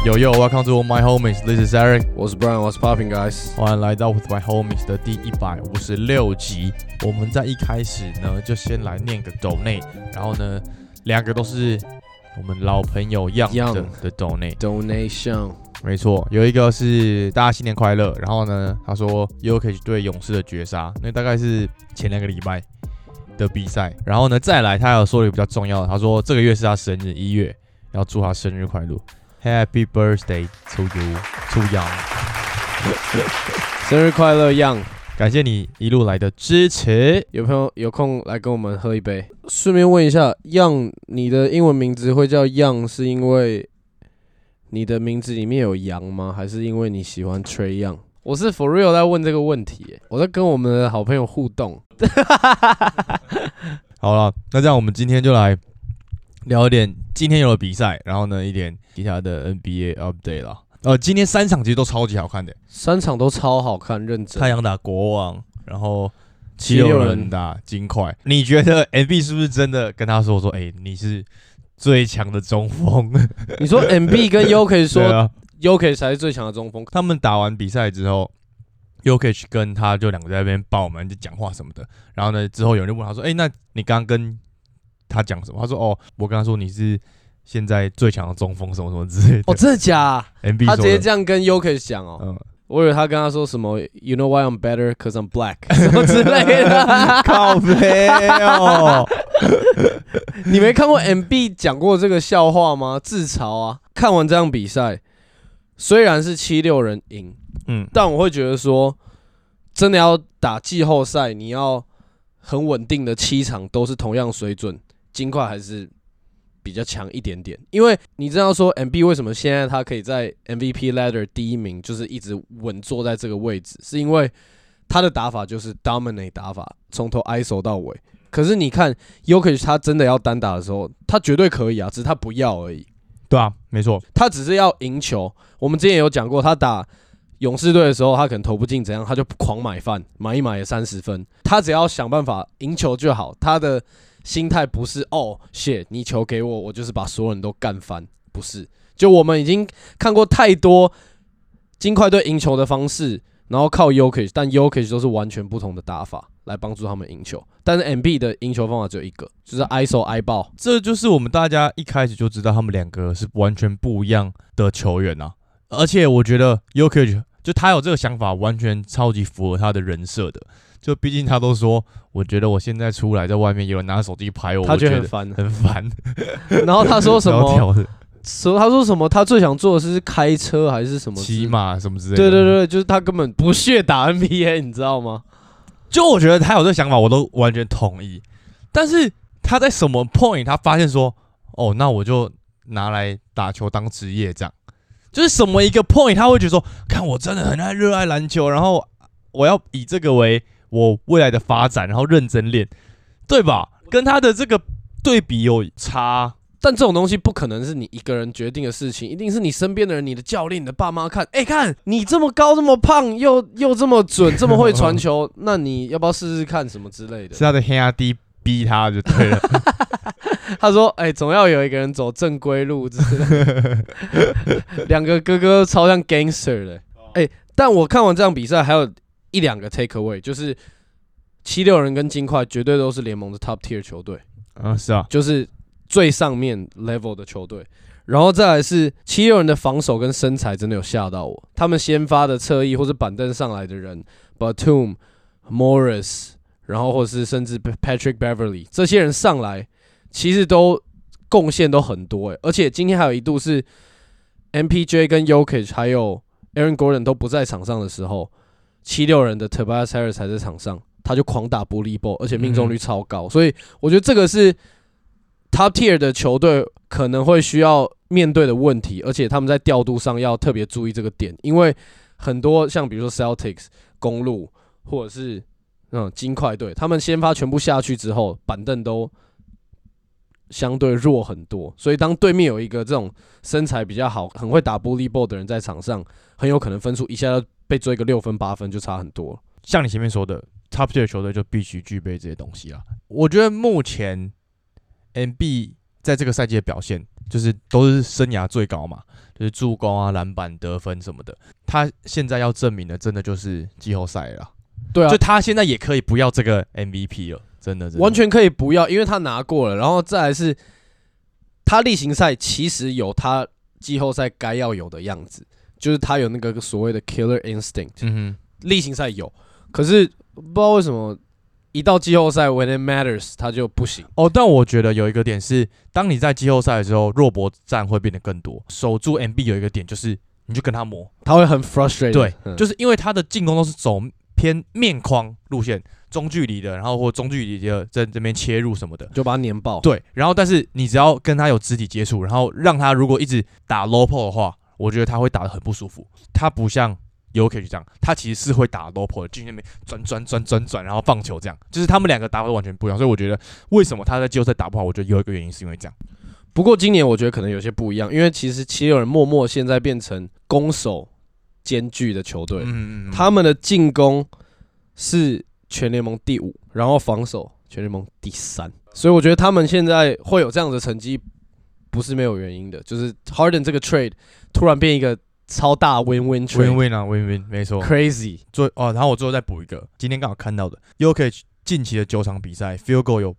Welcome to my homies. This is Eric. 我是 Brian，What's popping, guys？ 欢迎来到 With my homies 的第156集。我们在一开始呢，就先来念个 donate， 然后呢，两个都是我们老朋友 Young 的 donation。没错，有一个是大家新年快乐，然后呢，他说 Jokic 对勇士的绝杀，那大概是前2个礼拜的比赛。然后呢，再来他有说了一个比较重要的，他说这个月是他生日，1月，要祝他生日快乐。Happy birthday to you, to Young！ 生日快乐 ，Young！ 感谢你一路来的支持。 有朋友有空来跟我们喝一杯。顺便问一下 ，Young， 你的英文名字会叫 Young， 是因为你的名字里面有羊吗？还是因为你喜欢 Trae Young？ 我是 for real 在问这个问题，我在跟我们的好朋友互动。 好了，那这样我们今天就来聊一点今天有的比赛，然后呢一点其他的 NBA update 啦。今天3场其实都超级好看的 ，3场都超好看，认真。 太阳打国王，然后76人打金块。你觉得 MB 是不是真的跟他说，你是最强的中锋？ 你说 MB 跟 Jokic 说Jokic 才是最强的中锋。 他们打完比赛之后，Jokic 跟他就2个在那边爆满就讲话什么的。然后呢，之后有人就问他说：“那你刚刚跟他讲什么？”他说：“我跟他说你是现在最强的中锋，什么什么之类的。” 真的假 ？MB 他直接这样跟 Jokic 讲哦。我以为他跟他说什么 ，You know why I'm better? 'Cause I'm black 什么之类的。 靠北哦！ 你没看过 MB 讲过这个笑话吗？自嘲啊！看完这场比赛，虽然是76人赢，但我会觉得说，真的要打季后赛，你要很稳定的7场都是同样水准，金块还是比较强一点点。因为你知道说 MB 为什么现在他可以在 MVP ladder 第1名，就是一直稳坐在这个位置，是因为他的打法就是 dominate 打法，从头 ISO 到尾。可是你看 Jokic 他真的要单打的时候，他绝对可以啊，只是他不要而已。 对啊，没错， 他只是要赢球。我们之前也有讲过，他打勇士队的时候，他可能投不进怎样，他就狂买饭，买一买也30分。他只要想办法赢球就好。他的心态不是shit， 你球给我，我就是把所有人都干翻，不是。就我们已经看过太多金块队赢球的方式，然后靠 Jokic， 但 Jokic 都是完全不同的打法来帮助他们赢球。但是 MB 的赢球方法只有一个，就是 ISO 挨爆。 这就是我们大家一开始就知道他们2个是完全不一样的球员啊。而且我觉得 Jokic 就他有这个想法，完全超级符合他的人设的。就毕竟他都说，我觉得我现在出来在外面有人拿手机拍我， 他觉得很烦， 很烦。 然后他说什么？他说什么？他最想做的是开车还是什么？ 骑马什么之类的。 对，就是他根本不屑打 NBA， 你知道吗？ 就我觉得他有这个想法，我都完全同意。但是他在什么 point 他发现说，那我就拿来打球当职业这样。就是什么一个 point 他会觉得说，看我真的很热爱篮球，然后我要以这个为我未来的发展，然后认真练，对吧？跟他的这个对比有差。 但这种东西不可能是你一个人决定的事情，一定是你身边的人、你的教练、你的爸妈看，看你这么高、这么胖，又这么准、这么会传球，那你要不要试试看什么之类的？ 是他的兄弟逼他就对了。 他说：“总要有一个人走正规路之类的。”2个哥哥超像 gangster 的。但我看完这场比赛，还有1-2个 take away， 就是76人跟金块绝对都是联盟的 top tier 球队。 是啊， 就是最上面 level 的球队。然后再来是76人的防守跟身材真的有吓到我。他们先发的侧翼或是板凳上来的人 ，Batum、Morris， 然后或是甚至 Patrick Beverly 这些人上来，其实都贡献都很多而且今天还有一度是 MPJ 跟 Jokic 还有 Aaron Gordon 都不在场上的时候，76人的 Tobias Harris 还在场上，他就狂打bully ball， 而且命中率超高。所以我觉得这个是 top tier 的球队可能会需要面对的问题，而且他们在调度上要特别注意这个点，因为很多像比如说 Celtics、公鹿或者是金块队，他们先发全部下去之后，板凳都相对弱很多，所以当对面有一个这种身材比较好、很会打 bully ball 的人在场上，很有可能分数一下就被追个6分8分就差很多。 像你前面说的 ，top tier 球队就必须具备这些东西啊。我觉得目前 MB 在这个赛季的表现，就是都是生涯最高嘛。 就是助攻啊、篮板、得分什么的。他现在要证明的，真的就是季后赛了。 对啊， 就他现在也可以不要这个 MVP 了，真的完全可以不要，因为他拿过了。然后再来是，他例行赛其实有他季后赛该要有的样子，就是他有那个所谓的 killer instinct。例行赛有，可是不知道为什么一到季后赛 when it matters 他就不行。 但我觉得有一个点是，当你在季后赛的时候，弱搏战会变得更多。守住 MB 有一个点就是，你就跟他磨， 他会很 frustrated。 对，就是因为他的进攻都是走偏面框路线，中距离的，然后或中距离的在这边切入什么的， 就把他碾爆。 对，然后但是你只要跟他有肢体接触，然后让他如果一直打 low pull 的话，我觉得他会打得很不舒服。他不像Jokic 这样，他其实是会打 low pull 的，进去那边转，然后放球这样，就是他们两个打法完全不一样。所以我觉得为什么他在季后赛打不好，我觉得有一个原因是因为这样。 不过今年我觉得可能有些不一样，因为其实七六人默默现在变成攻守兼具的球队，他们的进攻是全联盟第5，然后防守全联盟第3，所以我觉得他们现在会有这样的成绩，不是没有原因的。就是 Harden 这个 trade 突然变一个超大 win-win trade， 啊 win-win 没错 ，crazy。 然后我最后再补一个，今天刚好看到的 Jokic 近期的9场比赛 field goal 有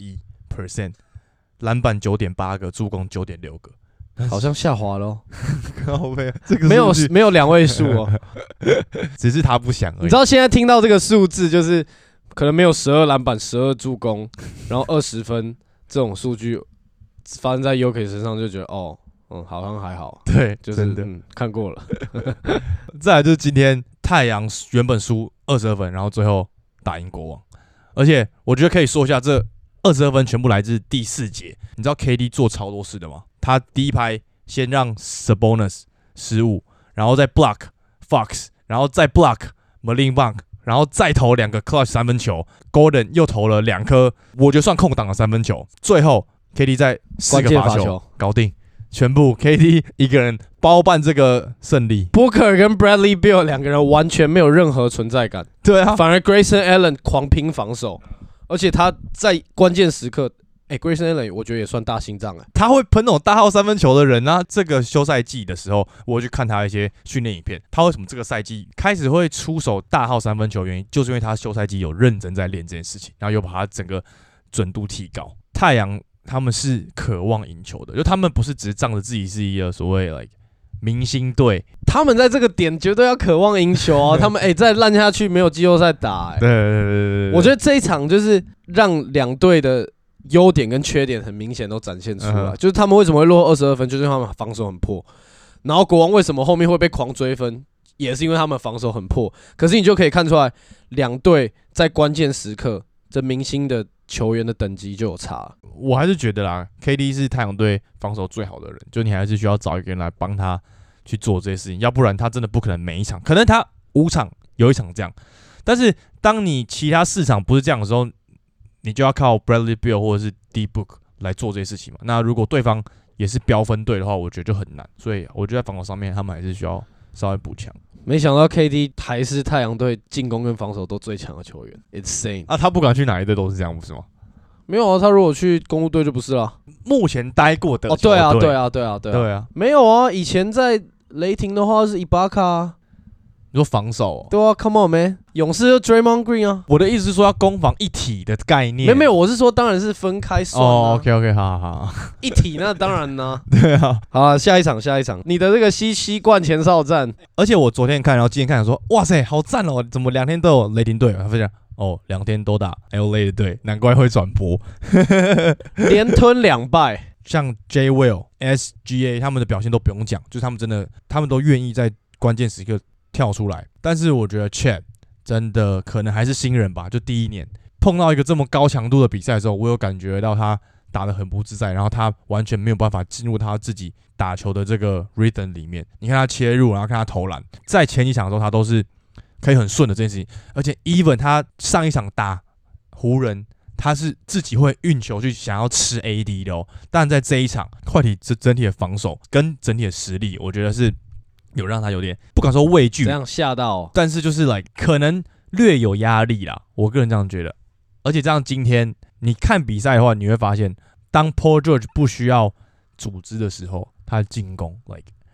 81%， 篮板9.8个，助攻9.6个。 好像下滑了， 这个没有2位数哦， 只是他不想而已。 你知道现在听到这个数字，就是可能没有12篮板、12助攻，然后20分这种数据发生在 Jokic 身上，就觉得好像还好。 对， 就是真的看过了。 再来就是今天太阳原本输22分，然后最后打赢国王，而且我觉得可以说一下，这22分全部来自第4节。你知道 KD 做超多事的吗？他第一拍先让 Sabonis 失误，然后再 block Fox， 然后再 block Malin Bank， 然后再投2个 clutch 3分球 ，Gordon 又投了2颗，我觉得算空档的3分球。最后 KD 在4个罚球搞定，全部 KD 一个人包办这个胜利。 Booker 跟 Bradley Beal 2个人完全没有任何存在感， 对啊， 反而 Grayson Allen 狂拼防守，而且他在关键时刻。Grayson Allen 我觉得也算大心脏他会喷那种大号3分球的人啊。这个休赛季的时候，我去看他一些训练影片，他为什么这个赛季开始会出手大号3分球？原因就是因为他休赛季有认真在练这件事情，然后又把他整个准度提高。太阳他们是渴望赢球的，就他们不是只是仗着自己是一个所谓明星队， 他们在这个点绝对要渴望赢球啊！他们再烂下去没有季后赛打对， 我觉得这一场就是让2队的优点跟缺点很明显都展现出来，就是他们为什么会落22分，就是因为他们防守很破。然后国王为什么后面会被狂追分，也是因为他们防守很破。可是你就可以看出来，2队在关键时刻，这明星的球员的等级就有差。 我还是觉得啦 ，KD 是太阳队防守最好的人，就你还是需要找一个人来帮他去做这些事情，要不然他真的不可能每一场，可能他5场有1场这样，但是当你其他4场不是这样的时候，你就要靠 Bradley Beal 或者是 D-Book 来做这些事情嘛。那如果对方也是飙分队的话，我觉得就很难。所以我觉得在防守上面，他们还是需要稍微补强。 没想到 KD 还是太阳队进攻跟防守都最强的球员 ，insane 啊！他不管去哪一队都是这样，不是吗？ 没有啊，他如果去公鹿队就不是了。 目前待过的对啊，没有啊，以前在雷霆的话是伊巴卡啊。 你说防守对啊 ，Come on man， 勇士就 Draymond Green 啊。 我的意思是说要攻防一体的概念。 没有，我是说当然是分开算啊。 OK， 好， 一体那当然呢。 对啊， 好啊，下一场，你的这个西冠前哨战， 而且我昨天看，然后今天看，说哇塞，好赞哦！怎么2天都有雷霆队？他分享2天都打 LA 的队，难怪会转播， 连吞2败。 像 J Will、SGA 他们的表现都不用讲，就是他们都愿意在关键时刻跳出来。但是我觉得 Chet 真的可能还是新人吧，就第1年碰到一个这么高强度的比赛的时候，我有感觉到他打得很不自在，然后他完全没有办法进入他自己打球的这个 rhythm 里面。你看他切入，然后看他投篮，在前几场的时候他都是可以很顺的这件事情，而且 even 他上一场打湖人，他是自己会运球去想要吃 AD 的哦。但在这一场，快艇整体的防守跟整体的实力，我觉得是有让他有点不敢说畏惧， 这样吓到， 但是就是可能略有压力啦。我个人这样觉得。而且这样今天你看比赛的话，你会发现，当 Paul George 不需要组织的时候，他的进攻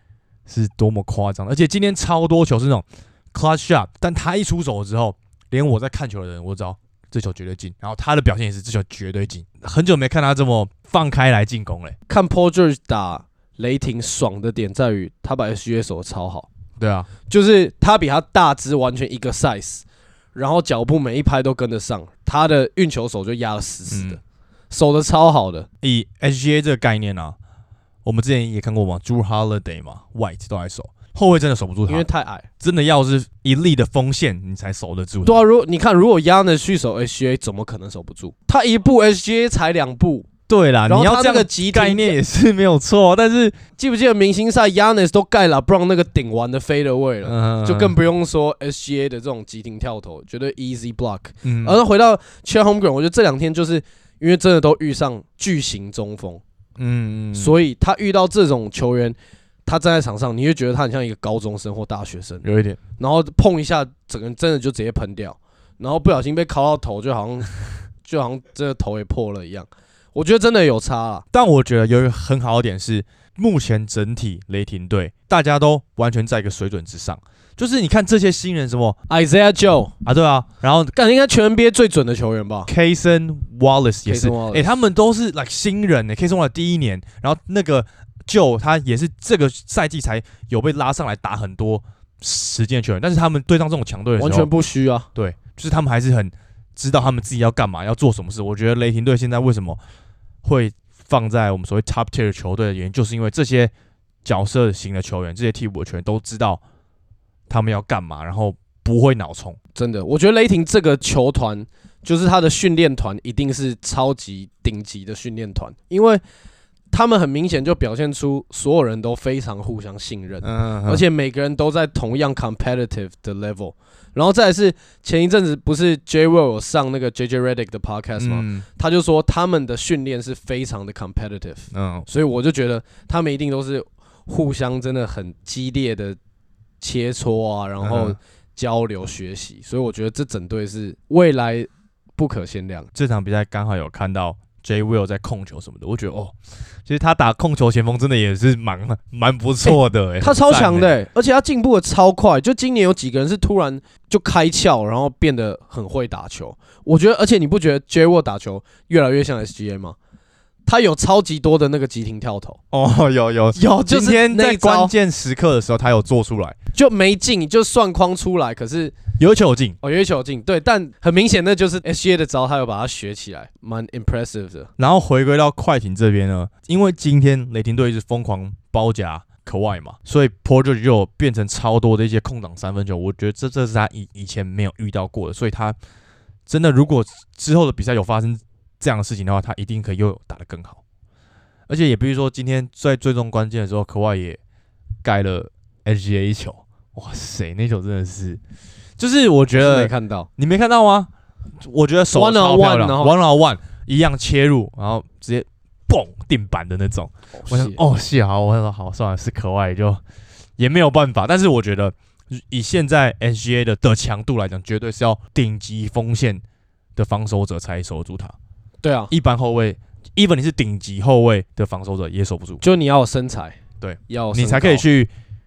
是多么夸张，而且今天超多球是那种 clutch shot， 但他一出手之后，连我在看球的人我知道这球绝对进，然后他的表现也是这球绝对进，很久没看他这么放开来进攻嘞。 看 Paul George 打雷霆爽的点在于他把 SGA 守得超好， 对啊， 就是他比他大只完全一个 size， 然后脚步每一拍都跟得上，他的运球手就压得死死的，守得超好的。 以 SGA 这个概念啊，我们之前也看过嘛 ，Jrue Holiday 嘛 ，White 都来守，后卫真的守不住他， 因为太矮， 真的要是一粒的锋线你才守得住。 对啊，你看，如果 Giannis 去守 SGA， 怎么可能守不住？他一步 SGA 才2步。 对啦，你要这个概念也是没有错，但是记不记得明星赛 Giannis 都盖了 LeBron 那个顶完的 fadeaway 了，就更不用说 SGA 的这种急停跳投，绝对 easy block。而回到 Chet Holmgren， 我觉得这2天就是因为真的都遇上巨型中锋，所以他遇到这种球员，他站在场上，你会觉得他很像一个高中生或大学生， 有一点， 然后碰一下，整个人真的就直接喷掉，然后不小心被敲到头，就好像这个头也破了一样。我觉得真的有差啦， 但我觉得有一个很好的点是，目前整体雷霆队大家都完全在一个水准之上。就是你看这些新人什么 Isaiah Joe 啊，对啊，然后应该全 NBA 最准的球员吧 ，Cason Wallace 也是，他们都是 like 新人，Cason Wallace 第1年，然后那个 Joe 他也是这个赛季才有被拉上来打很多时间的球员，但是他们对上这种强队的时候， 完全不虚啊， 对，就是他们还是很知道他们自己要干嘛，要做什么事。我觉得雷霆队现在为什么会放在我们所谓 top tier 的球队的原因，就是因为这些角色型的球员，这些替补的球员都知道他们要干嘛，然后不会脑冲。 真的，我觉得雷霆这个球团，就是他的训练团一定是超级顶级的训练团，因为他们很明显就表现出所有人都非常互相信任，而且每个人都在同样 competitive 的 level。然后再来是前一阵子不是 J Will 有上那个 JJ Redick 的 podcast 吗？他就说他们的训练是非常的 competitive，所以我就觉得他们一定都是互相真的很激烈的切磋啊，然后交流学习，所以我觉得这整队是未来不可限量。 这场比赛刚好有看到 J Will 在控球什么的，我觉得其实他打控球前锋真的也是蛮不错的他超强的而且他进步的超快。就今年有几个人是突然就开窍，然后变得很会打球。我觉得，而且你不觉得 J Will 打球越来越像 SGA 吗？他有超级多的那个急停跳投有， 就是今天在关键时刻的时候他有做出来， 就没进，就算框出来，可是有一球进有一球进，对，但很明显那就是 SGA 的招，他有把它学起来，蛮 impressive 的。 然后回归到快艇这边呢，因为今天雷霆队一直疯狂包夹Kawhi嘛，所以 Paul George 就变成超多的一些空档3分球，我觉得这是他以前没有遇到过的，所以他真的如果之后的比赛有发生这样的事情的话，他一定可以又打得更好。而且也比如说今天在最终关键的时候，Kawhi也盖了 SGA 一球，哇塞，那球真的是，就是我觉得没看到， 你没看到吗？我觉得手超漂亮 ，one on one 一样切入，然后直接蹦定板的那种。我想是好，我说好算了，是Kawhi就也没有办法。但是我觉得以现在 SGA 的强度来讲，绝对是要顶级锋线的防守者才守住他。 对啊， 一般后卫 ，even 你是顶级后卫的防守者也守不住。 就你要有身材， 对， 你才可以去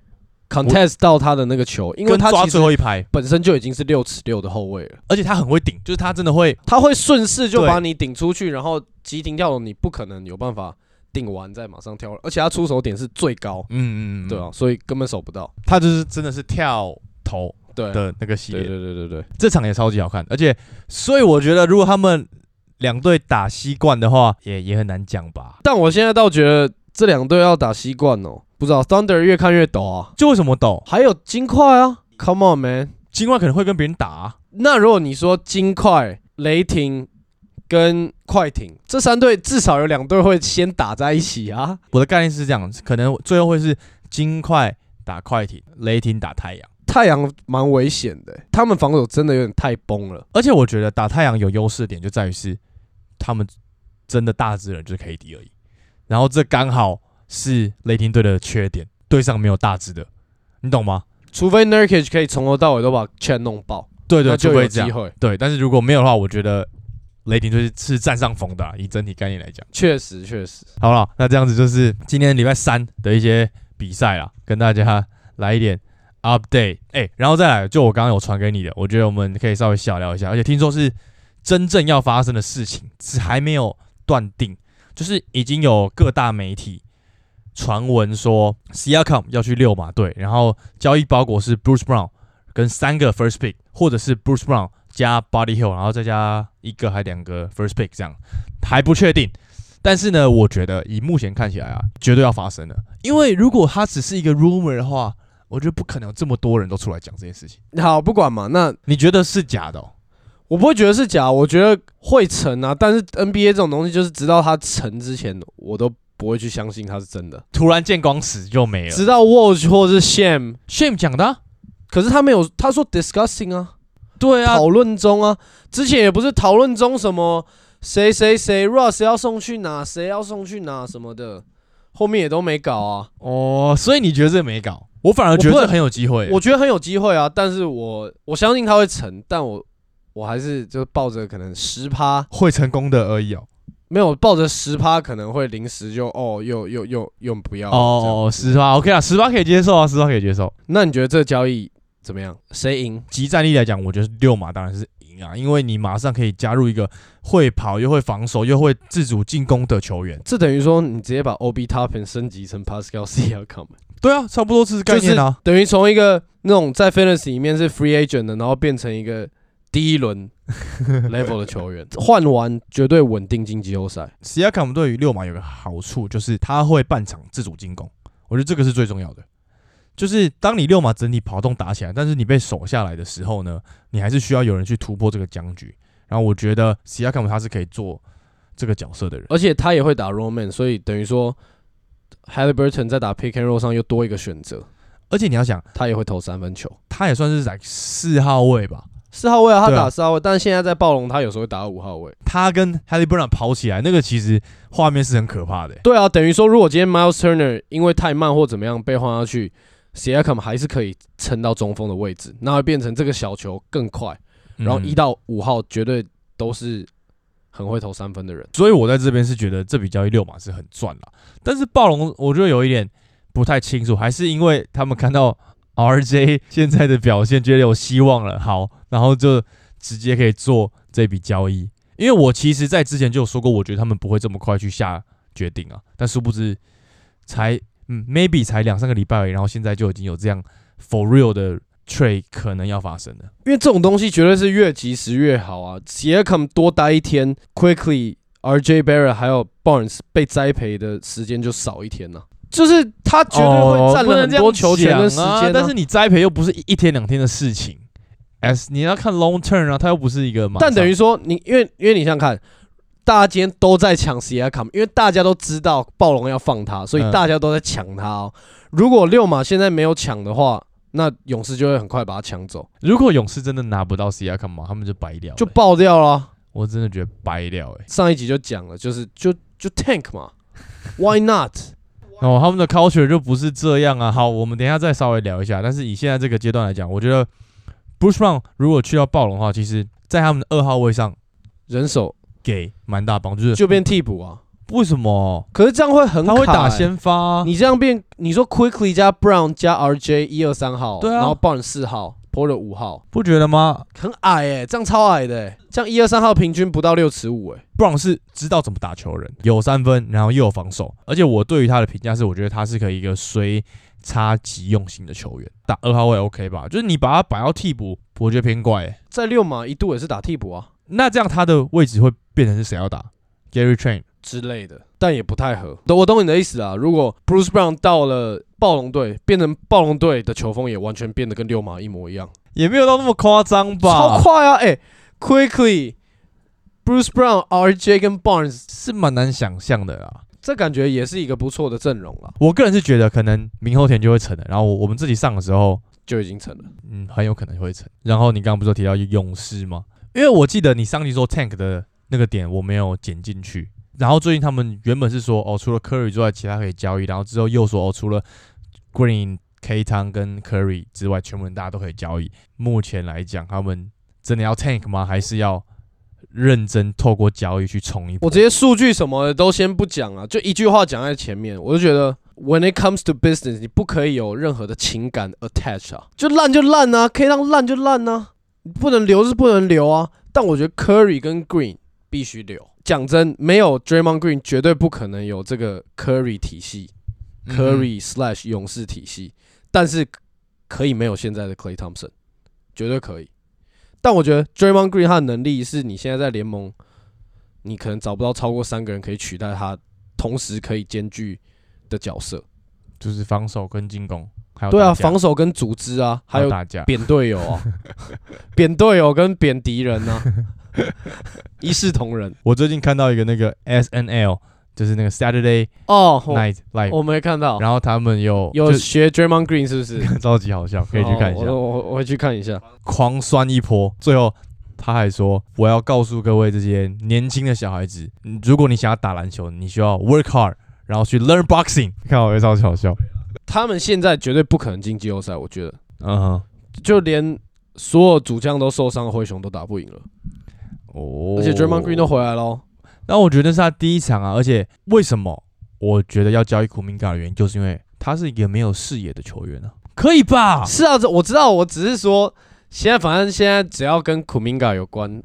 contest 到他的那个球，因为他抓最后一排本身就已经是6尺6的后卫了， 而且他很会顶，就是他真的会， 他会顺势就把你顶出去，然后急停跳投，你不可能有办法顶完再马上跳，而且他出手点是最高，对啊，所以根本守不到。 他就是真的是跳投的那个系列， 对， 这场也超级好看，而且所以我觉得如果他们两队打西冠的话，也很难讲吧。 但我现在倒觉得这2队要打西冠不知道 Thunder 越看越抖啊。 就为什么抖？ 还有金块啊 ，Come on man， 金块可能会跟别人打啊。 那如果你说金块、雷霆跟快艇这3队，至少有2队会先打在一起啊。 我的概念是这样，可能最后会是金块打快艇，雷霆打太阳。 太阳蛮危险的，他们防守真的有点太崩了。 而且我觉得打太阳有优势的点就在于是，他们真的大只人就是 KD 而已，然后这刚好是雷霆队的缺点，队上没有大只的，你懂吗？ 除非 Nurkic 可以从头到尾都把 Chet 弄爆， 对， 那就有机会。 对，但是如果没有的话，我觉得雷霆队是占上风的以整体概念来讲。 确实。 好了，那这样子就是今天礼拜3的一些比赛啦，跟大家来一点 update。然后再来，就我刚刚有传给你的，我觉得我们可以稍微小聊一下，而且听说是真正要发生的事情，只还没有断定，就是已经有各大媒体传闻说 Siakam 要去六马队，然后交易包裹是 Bruce Brown 跟3个 first pick， 或者是 Bruce Brown 加 Buddy Hield， 然后再加1个还2个 first pick， 这样还不确定。但是呢，我觉得以目前看起来啊，绝对要发生了。因为如果它只是一个 rumor 的话，我觉得不可能有这么多人都出来讲这件事情。 好，不管嘛，那你觉得是假的？ 我不会觉得是假，我觉得会成啊。但是 NBA 这种东西，就是直到它成之前，我都不会去相信它是真的。 突然见光死就没了。 直到 Woj 或是 Sham 讲的可是他没有，他说 discussing 啊， 对啊， 讨论中啊。之前也不是讨论中什么谁 Russ 要送去哪，谁要送去哪什么的，后面也都没搞啊。 所以你觉得这没搞？我反而觉得这很有机会。 我觉得很有机会啊，但是我相信他会成，但我还是就抱着可能10% 会成功的而已没有抱着10%可能会临时就又不要 10%OK 啊，10%可以接受啊，10%可以接受。 那你觉得这个交易怎么样？谁赢？ 即战力来讲，我觉得六马当然是赢啊，因为你马上可以加入一个会跑又会防守又会自主进攻的球员。 这等于说你直接把 Obi Toppin 升级成 Pascal Siakam。 对啊，差不多是概念啊， 就是、等于从一个那种在 Fantasy 里面是 Free Agent 的，然后变成一个第一轮 level 的球员，换完绝对稳定进季后赛。 Siakam 对于六马有个好处，就是他会半场自主进攻，我觉得这个是最重要的。就是当你六马整体跑动打起来，但是你被守下来的时候呢，你还是需要有人去突破这个僵局。然后我觉得 Siakam 他是可以做这个角色的人， 而且他也会打 roll man， 所以等于说 Haliburton 在打 pick and roll 上又多一个选择。 而且你要想， 他也会投3分球， 他也算是在4号位吧。 4号位啊，他打4号位，但是现在在暴龙，他有时候会打到5号位。 他跟 Haliburton 跑起来，那个其实画面是很可怕的。 对啊，等于说，如果今天 Miles Turner 因为太慢或怎么样被换下去 ，Siakam 还是可以撑到中锋的位置，那会变成这个小球更快，然后1到5号绝对都是很会投3分的人。 所以我在这边是觉得这笔交易六马是很赚啦。但是暴龙我觉得有一点不太清楚，还是因为他们看到 RJ 现在的表现，觉得有希望了，好，然后就直接可以做这笔交易。因为我其实在之前就有说过，我觉得他们不会这么快去下决定啊，但殊不知才maybe 才2-3个礼拜而已，然后现在就已经有这样 for real 的 trade 可能要发生了。 因为这种东西绝对是越及时越好啊。Siakam 多待一天 ，Quickly、RJ Barrett 还有 Barnes 被栽培的时间就少一天啊。就是他绝对会占了很多球权跟时间但是你栽培又不是1天2天的事情你要看 long term 啊，他又不是一个马上。 但等于说因为你想想看，大家今天都在抢 Siakam， 因为大家都知道暴龙要放他，所以大家都在抢他哦。如果六马现在没有抢的话，那勇士就会很快把他抢走。 如果勇士真的拿不到 Siakam 嘛，他们就白掉了， 就爆掉了。 我真的觉得白掉上一集就讲了，就 tank 嘛，Why not？ 他们的 culture 就不是这样啊。好，我们等一下再稍微聊一下。但是以现在这个阶段来讲，我觉得 Bruce Brown 如果去到暴龙的话，其实在他们的2号位上人手给蛮大帮助， 就变替补啊。 为什么？ 可是这样会很卡他会打先发啊。 你这样变，你说 Quickly 加 Brown 加 RJ 1、2、3号， 对啊， 然后 Barnes 4号，Porter 5号， 不觉得吗？ 很矮这样超矮的这样1、2、3号平均不到6尺5 Brown 是知道怎么打球的人，有3分，然后又有防守，而且我对于他的评价是，我觉得他是可以一个随插即用型的球员，打2号位 OK 吧？就是你把他摆到替补，我觉得偏怪在六马一度也是打替补啊， 那这样他的位置会变成是谁要打 ？Gary Trent 之类的，但也不太合。我懂你的意思啊。如果 Bruce Brown 到了暴龙队，变成暴龙队的球风也完全变得跟六马一模一样， 也没有到那么夸张吧？ 超快啊！Quickly、Bruce Brown、RJ 跟 Barnes 是蛮难想象的啦。 这感觉也是一个不错的阵容啦。 我个人是觉得可能明后天就会成了，然后我们自己上的时候就已经成了， 很有可能会成。然后你刚刚不是有提到勇士吗？因为我记得你上集说 Tank 的那个点我没有剪进去。然后最近他们原本是说除了 Curry 之外，其他可以交易，然后之后又说除了 Green、K 汤跟 Curry 之外，全部人大家都可以交易。目前来讲，他们真的要 Tank 吗？还是要认真透过交易去冲一波？ 我这些数据什么的都先不讲啊，就一句话讲在前面，我就觉得 When it comes to business， 你不可以有任何的情感 attach 啊，就烂就烂啊，可以让烂就烂啊，不能留是不能留啊。但我觉得 Curry 跟 Green 必须留。讲真，没有 Draymond Green 绝对不可能有这个 Curry 体系、Curry/ 勇士体系，但是可以没有现在的 Klay Thompson， 绝对可以。但我觉得 Draymond Green 他的能力是你现在在联盟，你可能找不到超过3个人可以取代他，同时可以兼具的角色， 就是防守跟进攻，还有对啊，防守跟组织啊，还有打架、 扁队友啊，扁队友跟扁敌人啊，一视同仁。 我最近看到一个那个 SNL， 就是那个 Saturday Night Live， 我没看到。 然后他们有学 Draymond Green 是不是？ 超级好笑，可以去看一下。 我会去看一下， 狂酸一波，最后。他还说：“我要告诉各位这些年轻的小孩子，如果你想要打篮球，你需要 work hard， 然后去 learn boxing。”看我也超级好笑。 他们现在绝对不可能进季后赛，我觉得。就连所有主将都受伤的灰熊都打不赢了。而且 Draymond Green 都回来了。 那我觉得是他第一场啊，而且为什么我觉得要交易Kuminga的原因，就是因为他是一个没有视野的球员啊，可以吧？ 是啊，我知道，我只是说。反正现在只要跟 Kuminga 有关，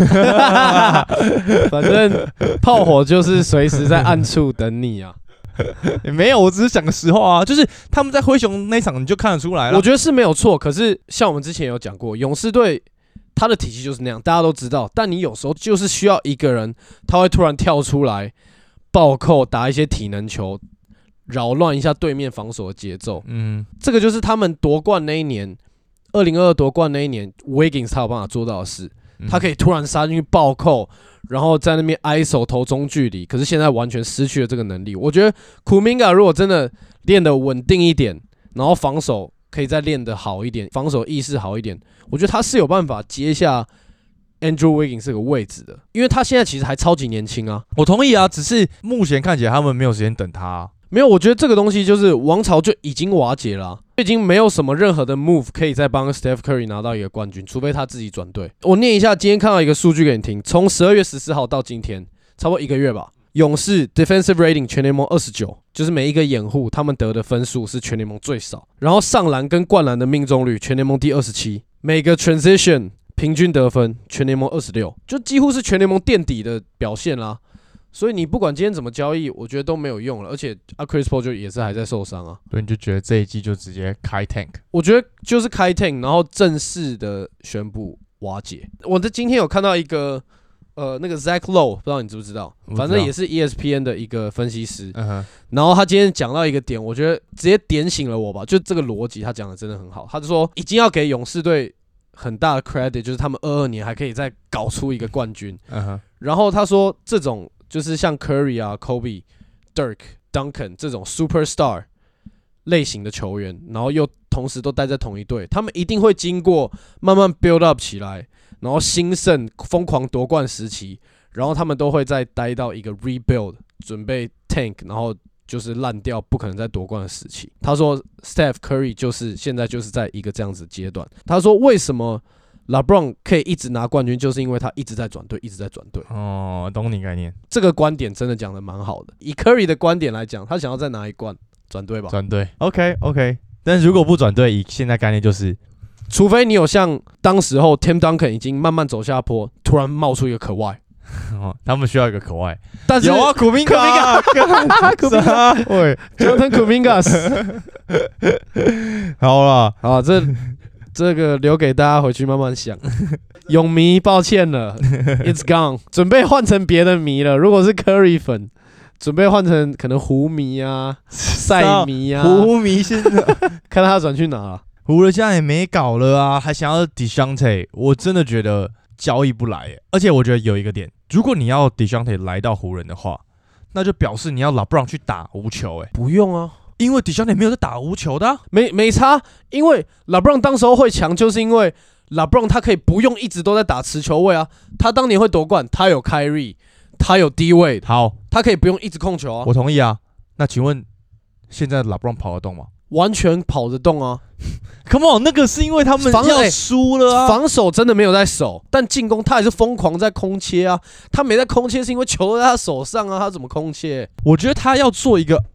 反正炮火就是随时在暗处等你啊。 没有，我只是讲个实话啊，就是他们在灰熊那场你就看得出来了。 我觉得是没有错，可是像我们之前有讲过，勇士队他的体系就是那样，大家都知道。但你有时候就是需要一个人，他会突然跳出来暴扣，打一些体能球，扰乱一下对面防守的节奏。这个就是他们夺冠那一年。2022夺冠那一年 ，Wiggins 他有办法做到的事，他可以突然杀进去暴扣，然后在那边挨手投中距离。可是现在完全失去了这个能力。我觉得 Kuminga 如果真的练得稳定一点，然后防守可以再练得好一点，防守意识好一点，我觉得他是有办法接下 Andrew Wiggins 这个位置的，因为他现在其实还超级年轻啊。 我同意啊，只是目前看起来他们没有时间等他啊。 没有，我觉得这个东西就是王朝就已经瓦解了啊，已经没有什么任何的 move 可以再帮 Steph Curry 拿到一个冠军，除非他自己转队。我念一下，今天看到一个数据给你听，从12月14号到今天，差不多1个月吧。勇士 defensive rating 全联盟29，就是每一个掩护他们得的分数是全联盟最少。然后上篮跟灌篮的命中率全联盟第27，每个 transition 平均得分全联盟26，就几乎是全联盟垫底的表现啦。所以你不管今天怎么交易，我觉得都没有用了，而且Chris Paul 就也是还在受伤啊。 对，你就觉得这一季就直接开 tank？ 我觉得就是开 tank， 然后正式的宣布瓦解。我今天有看到一个那个 Zach Lowe， 不知道你知不知道？反正也是 ESPN 的一个分析师。然后他今天讲到一个点，我觉得直接点醒了我吧，就这个逻辑他讲的真的很好。他就说已经要给勇士队很大的 credit， 就是他们22年还可以再搞出一个冠军。然后他说这种。就是像 Curry 啊、Kobe、Dirk、Duncan 这种 superstar 类型的球员，然后又同时都待在同一队，他们一定会经过慢慢 build up 起来，然后兴盛、疯狂夺冠时期，然后他们都会再待到一个 rebuild， 准备 tank， 然后就是烂掉，不可能再夺冠的时期。他说 Steph Curry 就是现在就是在一个这样子的阶段。他说为什么LeBron 可以一直拿冠军，就是因为他一直在转队，一直在转队。 哦，懂你概念。 这个观点真的讲的蛮好的。以 Curry 的观点来讲，他想要再拿一冠，转队吧。 转队 ，OK。但是如果不转队，以现在概念就是， 除非你有像当时候 Tim Duncan 已经慢慢走下坡，突然冒出一个可外。 他们需要一个可外。 但是有啊，Kuminga， 喂 ，Jonathan Kuminga。 好了， 好，这个留给大家回去慢慢想。勇迷，抱歉了 ，It's gone， 准备换成别的迷了。如果是 Curry 粉，准备换成可能湖迷啊、赛迷啊。 湖迷现在看他转去哪了。 湖人现在也没搞了啊，还想要 Dejounte， 我真的觉得交易不来耶。而且我觉得有一个点，如果你要 Dejounte 来到湖人的话，那就表示你要 LeBron 去打无球耶。 不用啊。 因为Dejounte没有在打无球的啊， 没差。因为 LeBron 当时候会强，就是因为 LeBron 他可以不用一直都在打持球位啊。他当年会夺冠，他有 Kyrie， 他有 D-Wade， 好，他可以不用一直控球啊。 我同意啊。那请问现在 LeBron 跑得动吗？ 完全跑得动啊。 Come on， 那个是因为他们要输了啊。 防守真的没有在守，但进攻他还是疯狂在空切啊。他没在空切是因为球在他手上啊，他怎么空切？ 我觉得他要做一个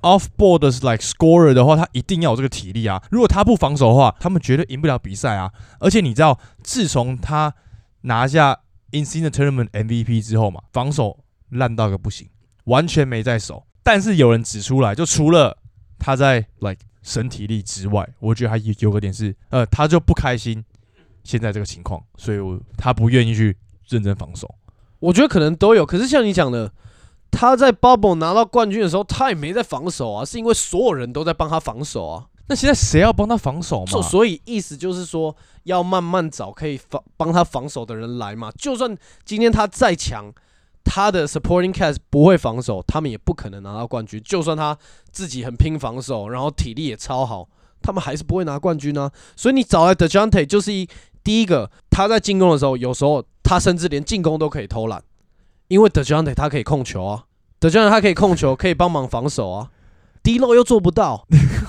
off ball 的 like scorer 的话，他一定要有这个体力啊。如果他不防守的话，他们绝对赢不了比赛啊。而且你知道，自从他拿下 In-Season Tournament MVP 之后嘛，防守烂到个不行，完全没在守。但是有人指出来，就除了他在 like 身体力之外，我觉得他有个点是，他就不开心现在这个情况，所以他不愿意去认真防守。 我觉得可能都有，可是像你讲的，他在 Bubble 拿到冠军的时候，他也没在防守啊，是因为所有人都在帮他防守啊。 那现在谁要帮他防守嘛？ 所以意思就是说，要慢慢找可以帮他防守的人来嘛。就算今天他再强，他的 supporting cast 不会防守，他们也不可能拿到冠军。就算他自己很拼防守，然后体力也超好，他们还是不会拿冠军啊。所以你找来 DeJounte 就是第一个，他在进攻的时候，有时候他甚至连进攻都可以偷懒，因为 DeJounte 他可以控球啊 ，DeJounte 他可以控球，可以帮忙防守啊。D-Lo 又做不到，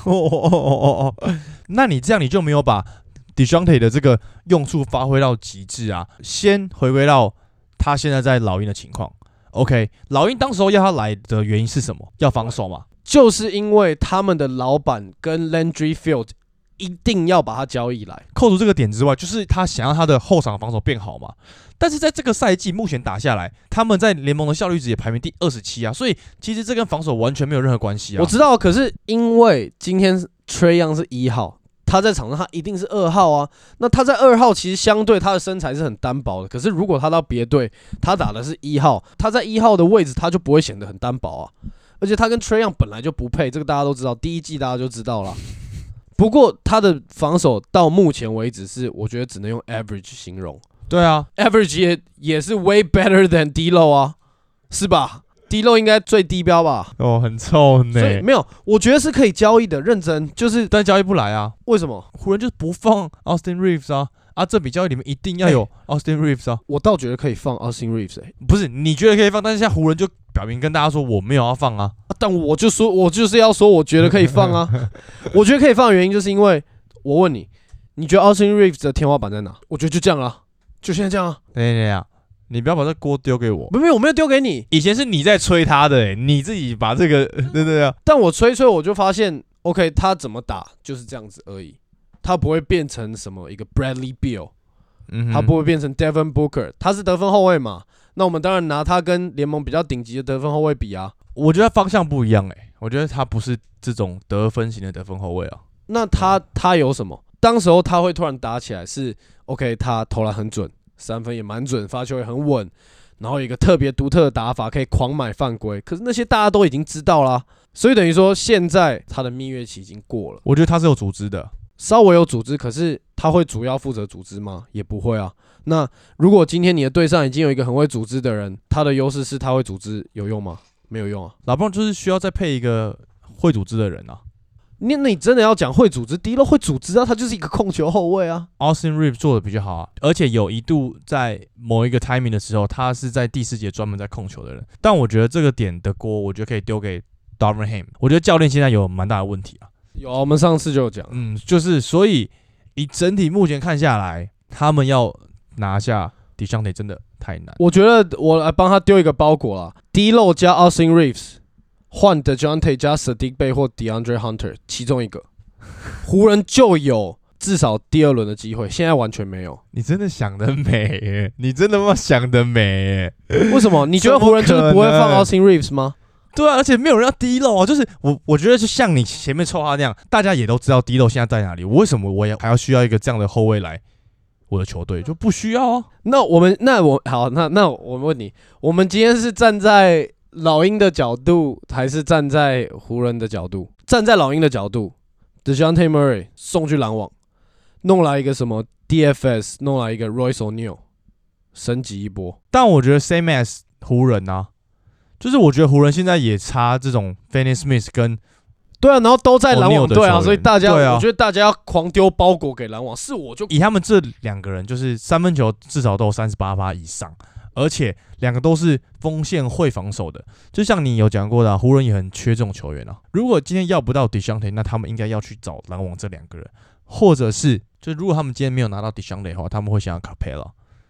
那你这样你就没有把 DeJounte 的这个用处发挥到极致啊！先回归到他现在在老鹰的情况 ，OK， 老鹰当时候要他来的原因是什么？要防守嘛？ 就是因为他们的老板跟 Landry Field 一定要把他交易来。 扣除这个点之外，就是他想要他的后场防守变好嘛。但是在这个赛季目前打下来，他们在联盟的效率值也排名第27啊，所以其实这跟防守完全没有任何关系啊。 我知道，可是因为今天 Trae Young 是1号，他在场上他一定是2号啊。那他在2号其实相对他的身材是很单薄的，可是如果他到别队，他打的是1号，他在1号的位置他就不会显得很单薄啊。而且他跟 Trae Young 本来就不配，这个大家都知道，第一季大家就知道了。不过他的防守到目前为止是，我觉得只能用 average 形容。 对啊 ，average 也是 way better than D-Lo 啊，是吧 ？D-Lo 应该最低标吧？ 哦，很臭呢。 所以没有，我觉得是可以交易的，认真就是， 但交易不来啊？ 为什么？ 湖人就是不放 Austin Reeves 啊，这笔交易里面一定要有 Austin Reeves 啊。 我倒觉得可以放 Austin Reeves， 不是你觉得可以放，但是现在湖人就表明跟大家说我没有要放啊。 但我就说，我就是要说，我觉得可以放啊。我觉得可以放的原因就是因为，我问你，你觉得 Austin Reeves 的天花板在哪？我觉得就这样啊。就现在这样啊！ 等一下，你不要把这锅丢给我。 没有，我没有丢给你。 以前是你在吹他的，你自己把这个对啊。 但我吹，我就发现 ，OK， 他怎么打就是这样子而已，他不会变成什么一个 Bradley Beal，他不会变成 Devin Booker， 他是得分后卫嘛？那我们当然拿他跟联盟比较顶级的得分后卫比啊。 我觉得方向不一样我觉得他不是这种得分型的得分后卫啊。 那他有什么？当时候他会突然打起来是 OK， 他投篮很准，三分也蛮准，发球也很稳，然后有一个特别独特的打法，可以狂买犯规。可是那些大家都已经知道啦，所以等于说现在他的蜜月期已经过了。 我觉得他是有组织的， 稍微有组织，可是他会主要负责组织吗？也不会啊。那如果今天你的队上已经有一个很会组织的人，他的优势是他会组织，有用吗？没有用啊。 老棒就是需要再配一个会组织的人啊。 那你真的要讲会组织，D-Lo会组织啊，他就是一个控球后卫啊。 Austin Reeves 做的比较好啊，而且有一度在某一个 timing 的时候，他是在第4节专门在控球的人。但我觉得这个点的锅，我觉得可以丢给 Darvin Ham。我觉得教练现在有蛮大的问题啊。 有啊，我们上次就有讲。 就是所以以整体目前看下来，他们要拿下 DeJounte 真的太难。 我觉得我来帮他丢一个包裹啦 ，D-Lo 加 Austin Reeves。换 DeJounte 加 Sadiq Bey 或 DeAndre Hunter 其中一个，湖人就有至少第2轮的机会，现在完全没有。 你真的想得美你真的想得美为什么？你觉得湖人就是不会放 Austin Reeves 吗？ 对啊，而且没有人要D-Lo啊，就是我觉得就像你前面臭他那样，大家也都知道D-Lo现在在哪里，为什么我也还要需要一个这样的后卫来我的球队？就不需要啊。 那我们问你，我们今天是站在老鹰的角度，还是站在湖人的角度？站在老鹰的角度 ，DeJounte Murray 送去篮网，弄来一个什么 DFS， 弄来一个 Royce O'Neal， 升级一波。 但我觉得 same as 湖人啊，就是我觉得湖人现在也差这种 Finney Smith 跟对啊，然后都在篮网队啊，所以大家、 啊、 我觉得大家要狂丢包裹给篮网，是我就以他们这2个人，就是三分球至少都有38%以上。而且2个都是锋线会防守的，就像你有讲过的湖人也很缺这种球员啊。如果今天要不到 DeJounte， 那他们应该要去找篮网这2个人，或者是就如果他们今天没有拿到 DeJounte 的话，他们会想要 Capela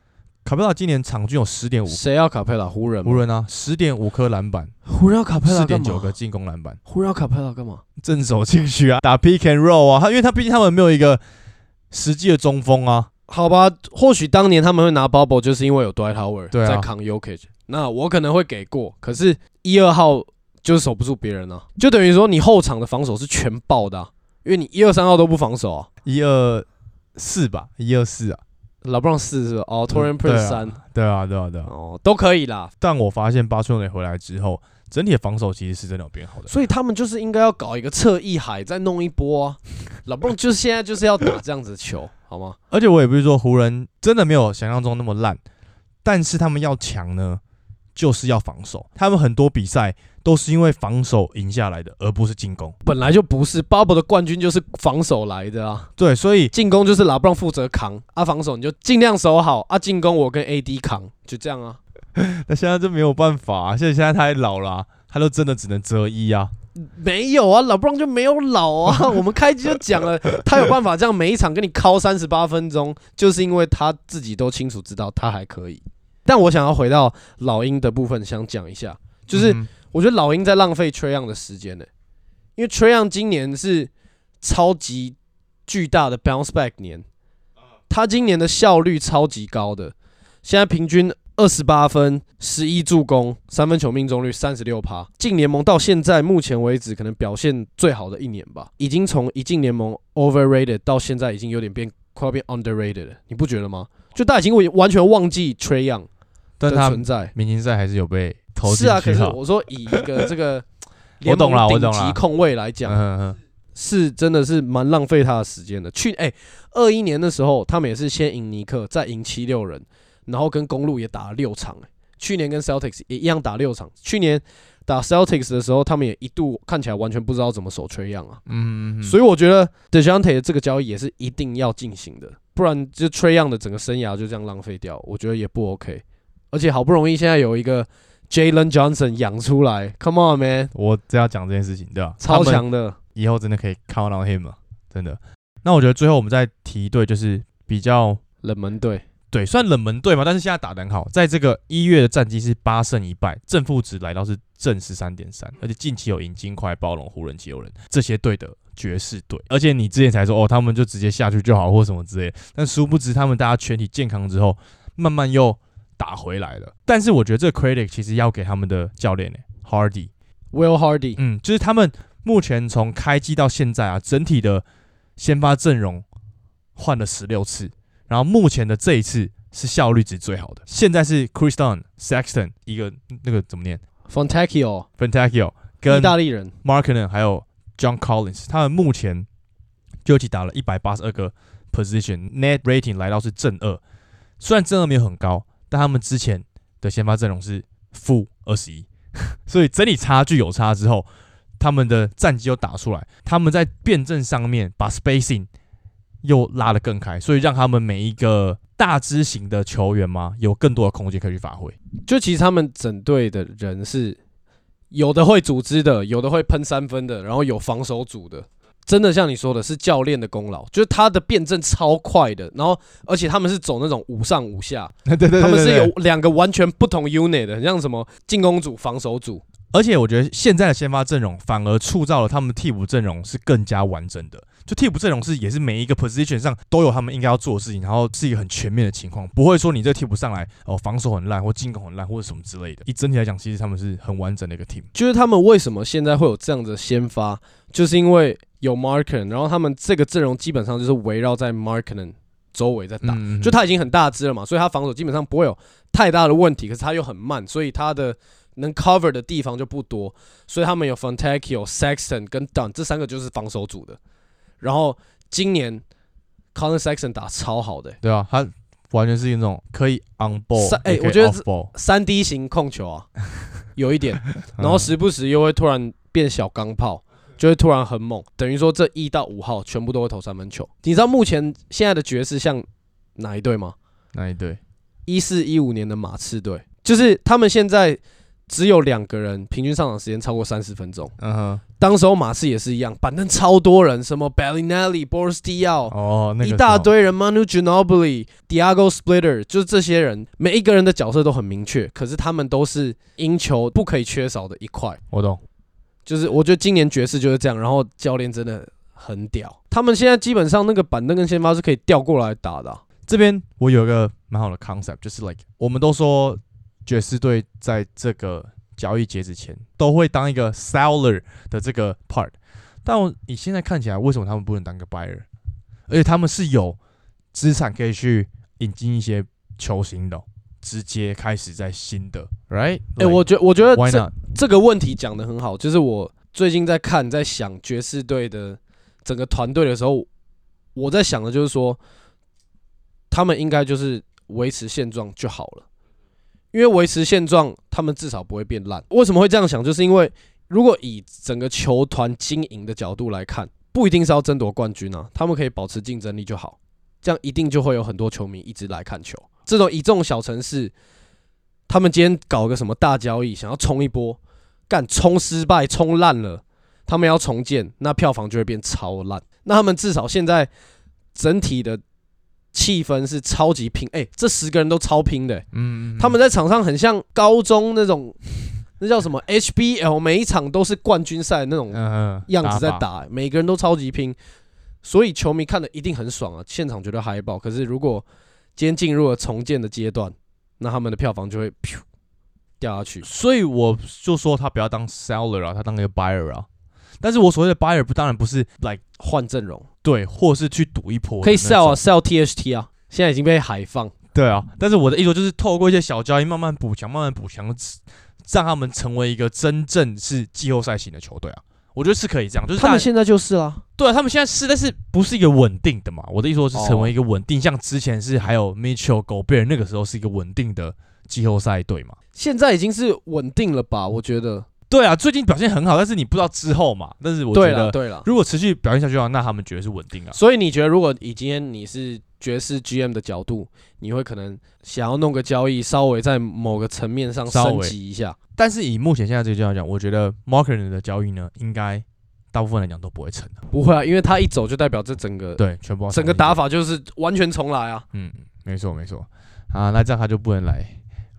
卡佩拉今年场均有10.5， 谁要卡佩拉？湖人啊，10.5颗篮板， 湖人要卡佩拉干嘛 ？4.9个进攻篮板， 湖人要卡佩拉干嘛？ 正手进去啊，打 pick and roll 啊，因为毕竟他们没有一个实际的中锋啊。 好吧，或许当年他们会拿 Bubble， 就是因为有 Dwight Howard 在扛 Jokic，那我可能会给过，可是1、2号就是守不住别人啊，就等于说你后场的防守是全爆的啊，因为你1、2、3号都不防守啊 ，1、2、4吧，1、2、4啊。 LeBron 4是吧？哦 ，Taurean Prince 3， 对啊， 哦，都可以啦。 但我发现巴丘内回来之后，整体的防守其实是真的有变好的。 所以他们就是应该要搞一个侧翼海，再弄一波啊。LeBron 就是现在就是要打这样子的球，好吗？ 而且我也不是说湖人真的没有想象中那么烂，但是他们要强呢，就是要防守。他们很多比赛都是因为防守赢下来的，而不是进攻。 本来就不是 Bubble 的冠军就是防守来的啊。 对，所以进攻就是 LeBron 负责扛啊，防守你就尽量守好啊，进攻我跟 AD 扛，就这样啊。 那现在就没有办法啊，现在他也老了啊，他就真的只能择一啊。 没有啊，LeBron 就没有老啊。我们开机就讲了，他有办法这样每一场跟你敲38分钟，就是因为他自己都清楚知道他还可以。但我想要回到老鹰的部分，想讲一下，就是我觉得老鹰在浪费 Trae Young 的时间呢，因为 Trae Young 今年是超级巨大的 bounce back 年，他今年的效率超级高的，现在平均28分、11助攻、3分球命中率 36%， 进联盟到现在目前为止可能表现最好的一年吧，已经从一进联盟 overrated 到现在已经有点快要变 underrated 了，你不觉得吗？就大家已经完全忘记 Trae Young 的存在， 明星赛还是有被投进去。 是啊，可是我说以一个这个联盟顶级控卫来讲，是真的是蛮浪费他的时间的。21年的时候，他们也是先赢尼克，再赢76人。然后跟公鹿也打了6场，去年跟 Celtics 也一样打6场。去年打 Celtics 的时候，他们也一度看起来完全不知道怎么守Trae Young啊。所以我觉得 DeJounte 的这个交易也是一定要进行的，不然就Trae Young的整个生涯就这样浪费掉，我觉得也不 OK。而且好不容易现在有一个 Jalen Johnson 养出来 ，Come on man， 我只要讲这件事情，对吧？ 超强的， 以后真的可以 count on him 了，真的。那我觉得最后我们再提一队，就是比较冷门队。 对，算冷门队嘛，但是现在打得很好。在这个1月的战绩是8胜1败，正负值来到是正 13.3， 而且近期有赢金块、暴龙、湖人、七六人这些队的爵士队。而且你之前才说他们就直接下去就好或什么之类的，但殊不知他们大家全体健康之后，慢慢又打回来了。但是我觉得这个 credit 其实要给他们的教练 Will Hardy， 就是他们目前从开季到现在啊，整体的先发阵容换了16次。然后目前的这一次是效率值最好的，现在是 Chris Dunn、Sexton 一个那个怎么念 Fontecchio 跟意大利人 Markkanen 还有 John Collins， 他们目前就一起打了182个 position，net rating 来到是正2，虽然正2没有很高，但他们之前的先发阵容是-21，所以整体差距有差之后，他们的战绩又打出来，他们在辩证上面把 spacing又拉得更开，所以让他们每一个大支型的球员嘛，有更多的空间可以去发挥。 就其实他们整队的人是有的会组织的，有的会喷3分的，然后有防守组的。真的像你说的，是教练的功劳，就是他的辩证超快的，然后而且他们是走那种5上5下， 对， 他们是有2个完全不同 unit 的，很像什么进攻组、防守组。 而且我觉得现在的先发阵容反而塑造了他们替补阵容是更加完整的。就替补阵容也是每一个 position 上都有他们应该要做的事情，然后是一个很全面的情况，不会说你这个替补上来防守很烂或进攻很烂或者什么之类的。以整体来讲，其实他们是很完整的一个 team。 就是他们为什么现在会有这样的先发，就是因为有 Markkanen， 然后他们这个阵容基本上就是围绕在 Markkanen 周围在打，就他已经很大只了嘛，所以他防守基本上不会有太大的问题，可是他又很慢，所以他的能 cover 的地方就不多，所以他们有 Fontecchio、Sexton 跟 Dunn 这3个就是防守组的。然后今年 Collin Sexton 打超好的， 对啊，他完全是那种可以 on ball， 我觉得 3D 型控球啊，有一点，然后时不时又会突然变小钢炮，就会突然很猛，等于说这1到5号全部都会投3分球。你知道目前现在的爵士像哪一队吗？ 哪一队？ 14-15年的马刺队，就是他们现在只有2个人平均上场时间超过30分钟。 嗯哼， 当时候马刺也是一样，板凳超多人，什么 Bellinelli、Boris Diaw，一大堆人 ，Manu Ginobili、Diago Splitter， 就是这些人，每一个人的角色都很明确，可是他们都是赢球不可以缺少的一块。 我懂， 就是我觉得今年爵士就是这样，然后教练真的很屌，他们现在基本上那个板凳跟先发是可以调过来打的。 这边我有一个蛮好的 concept， 就是 like 我们都说爵士队在这个交易截止前都会当一个 seller 的这个 part， 但你现在看起来，为什么他们不能当个 buyer？ 而且他们是有资产可以去引进一些球星的，直接开始在新的 ，right？ 我觉得这个问题讲得很好，就是我最近在看在想爵士队的整个团队的时候，我在想的就是说，他们应该就是维持现状就好了。因为维持现状，他们至少不会变烂。为什么会这样想？就是因为如果以整个球团经营的角度来看，不一定是要争夺冠军啊，他们可以保持竞争力就好，这样一定就会有很多球迷一直来看球。以这种小城市，他们今天搞个什么大交易，想要冲一波，冲失败、冲烂了，他们要重建，那票房就会变超烂。那他们至少现在整体的气氛是超级拼，这10个人都超拼的，他们在场上很像高中那种，那叫什么 HBL， 每一场都是冠军赛那种样子在打，每个人都超级拼，所以球迷看的一定很爽啊，现场绝对嗨爆。可是如果今天进入了重建的阶段，那他们的票房就会掉下去。 所以我就说他不要当 seller 啊，他当一个 buyer 啊。但是我所谓的 buyer 当然不是 like 换阵容， 对，或是去赌一波， 可以 sell 啊 ，sell THT 啊，现在已经被海放。 对啊，但是我的意思就是透过一些小交易慢慢补强，让他们成为一个真正是季后赛型的球队啊。我觉得是可以这样，就是他们现在就是啦。 对啊，他们现在是，但是不是一个稳定的嘛？我的意思说是成为一个稳定，像之前是还有 Mitchell、Gobert 那个时候是一个稳定的季后赛队嘛。 现在已经是稳定了吧？我觉得。 对啊，最近表现很好，但是你不知道之后嘛。但是我觉得， 对了， 如果持续表现下去的话，那他们绝对是稳定啊。 所以你觉得，如果以今天你是爵士 GM 的角度，你会可能想要弄个交易，稍微在某个层面上升级一下。 但是以目前现在这个阶段来讲，我觉得 Markkanen 的交易呢，应该大部分来讲都不会成的。 不会啊，因为他一走就代表这整个全部整个打法就是完全重来啊。 没错啊，那这样他就不能来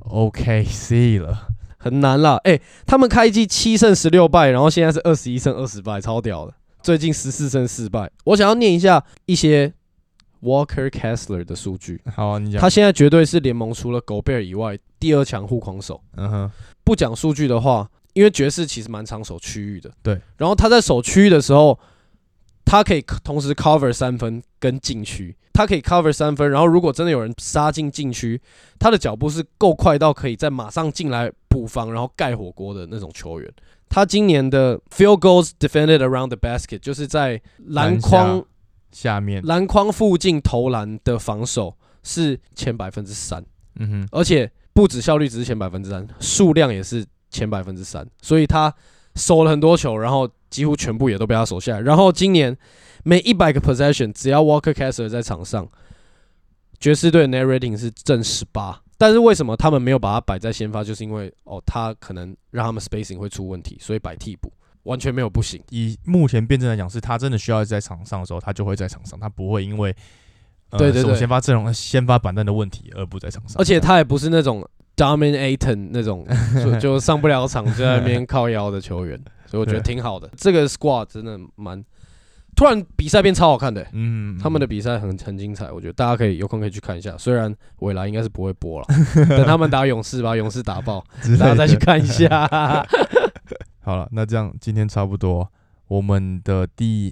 OKC 了。 很难啦，他们开季7胜16败，然后现在是21胜20败，超屌的。最近14胜4败。我想要念一些 Walker Kessler 的数据。 好啊，你讲。 他现在绝对是联盟除了 Gobert 以外第2强护框手。不讲数据的话，因为爵士其实蛮常守区域的。 对。 然后他在守区域的时候，他可以同时 cover 3分跟禁区。他可以 cover 3分，然后如果真的有人杀进禁区，他的脚步是够快到可以再马上进来补防，然后盖火锅的那种球员。他今年的 field goals defended around the basket， 就是在篮筐下面、 篮筐附近投篮的防守是前3%。而且不止效率只是前3%，数量也是前3%。所以他守了很多球，然后几乎全部也都被他守下来。然后今年每100个 possession， 只要 Walker Kessler 在场上，爵士队的 net rating 是正18。但是为什么他们没有把他摆在先发？就是因为他可能让他们 spacing 会出问题，所以摆替补，完全没有不行。 以目前辩证来讲，是他真的需要在场上的时候，他就会在场上，他不会因为守先发阵容、先发板凳的问题而不在场上。 而且他也不是那种 dominating 那种就上不了场就在那边靠腰的球员，所以我觉得挺好的。这个 squad 真的突然比赛变超好看的，他们的比赛很精彩，我觉得大家可以有空可以去看一下。虽然未来应该是不会播了，等他们打勇士把勇士打爆，大家再去看一下。 好了，那这样今天差不多，我们的第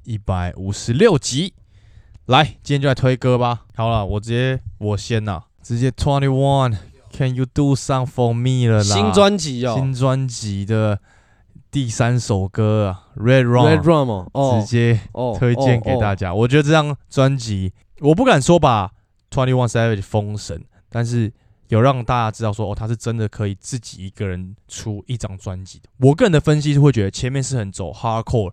156集，来，今天就来推歌吧。好了，我先呐，直接 21。Can you do something for me 了啦？ 新专辑新专辑的第3首歌啊 ，Red Rum， 直接推荐给大家。我觉得这张专辑，我不敢说把 21 Savage 封神，但是有让大家知道说，他是真的可以自己一个人出一张专辑的。我个人的分析是会觉得前面是很走 Hardcore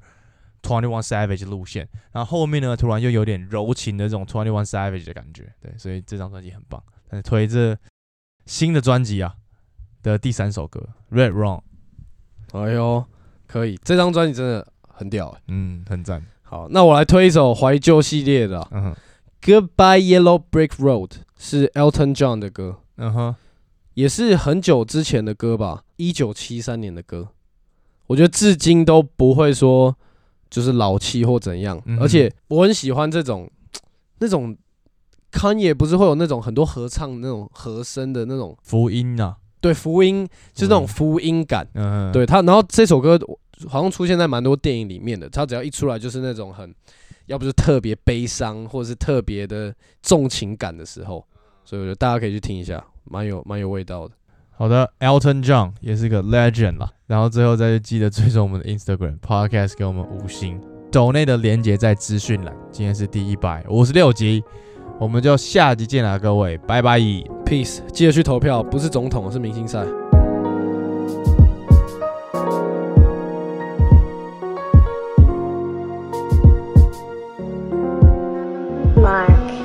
21 Savage 路线，然后后面呢突然又有点柔情的这种21 Savage 的感觉，对，所以这张专辑很棒。但是推这新的专辑啊的第3首歌《Red Rum》。 哎呦，可以，这张专辑真的很屌很赞。 好，那我来推一首怀旧系列的Goodbye Yellow Brick Road 是 Elton John 的歌，也是很久之前的歌吧，1973年的歌。我觉得至今都不会说就是老气或怎样，而且我很喜欢那种 Kanye 不是会有那种很多合唱那种和声的那种福音啊， 对，福音就是那种福音感，对他，然后这首歌好像出现在蛮多电影里面的，他只要一出来就是那种要不是特别悲伤，或者是特别的重情感的时候，所以我觉得大家可以去听一下，蛮有味道的。 好的 ，Elton John 也是个 legend 啦。然后最后再记得追踪我们的 Instagram Podcast， 给我们5星。抖内的连结在资讯栏。今天是第156集，我们就下集见啦，各位，拜拜 ，peace， 记得去投票，不是总统，是明星赛。 Mark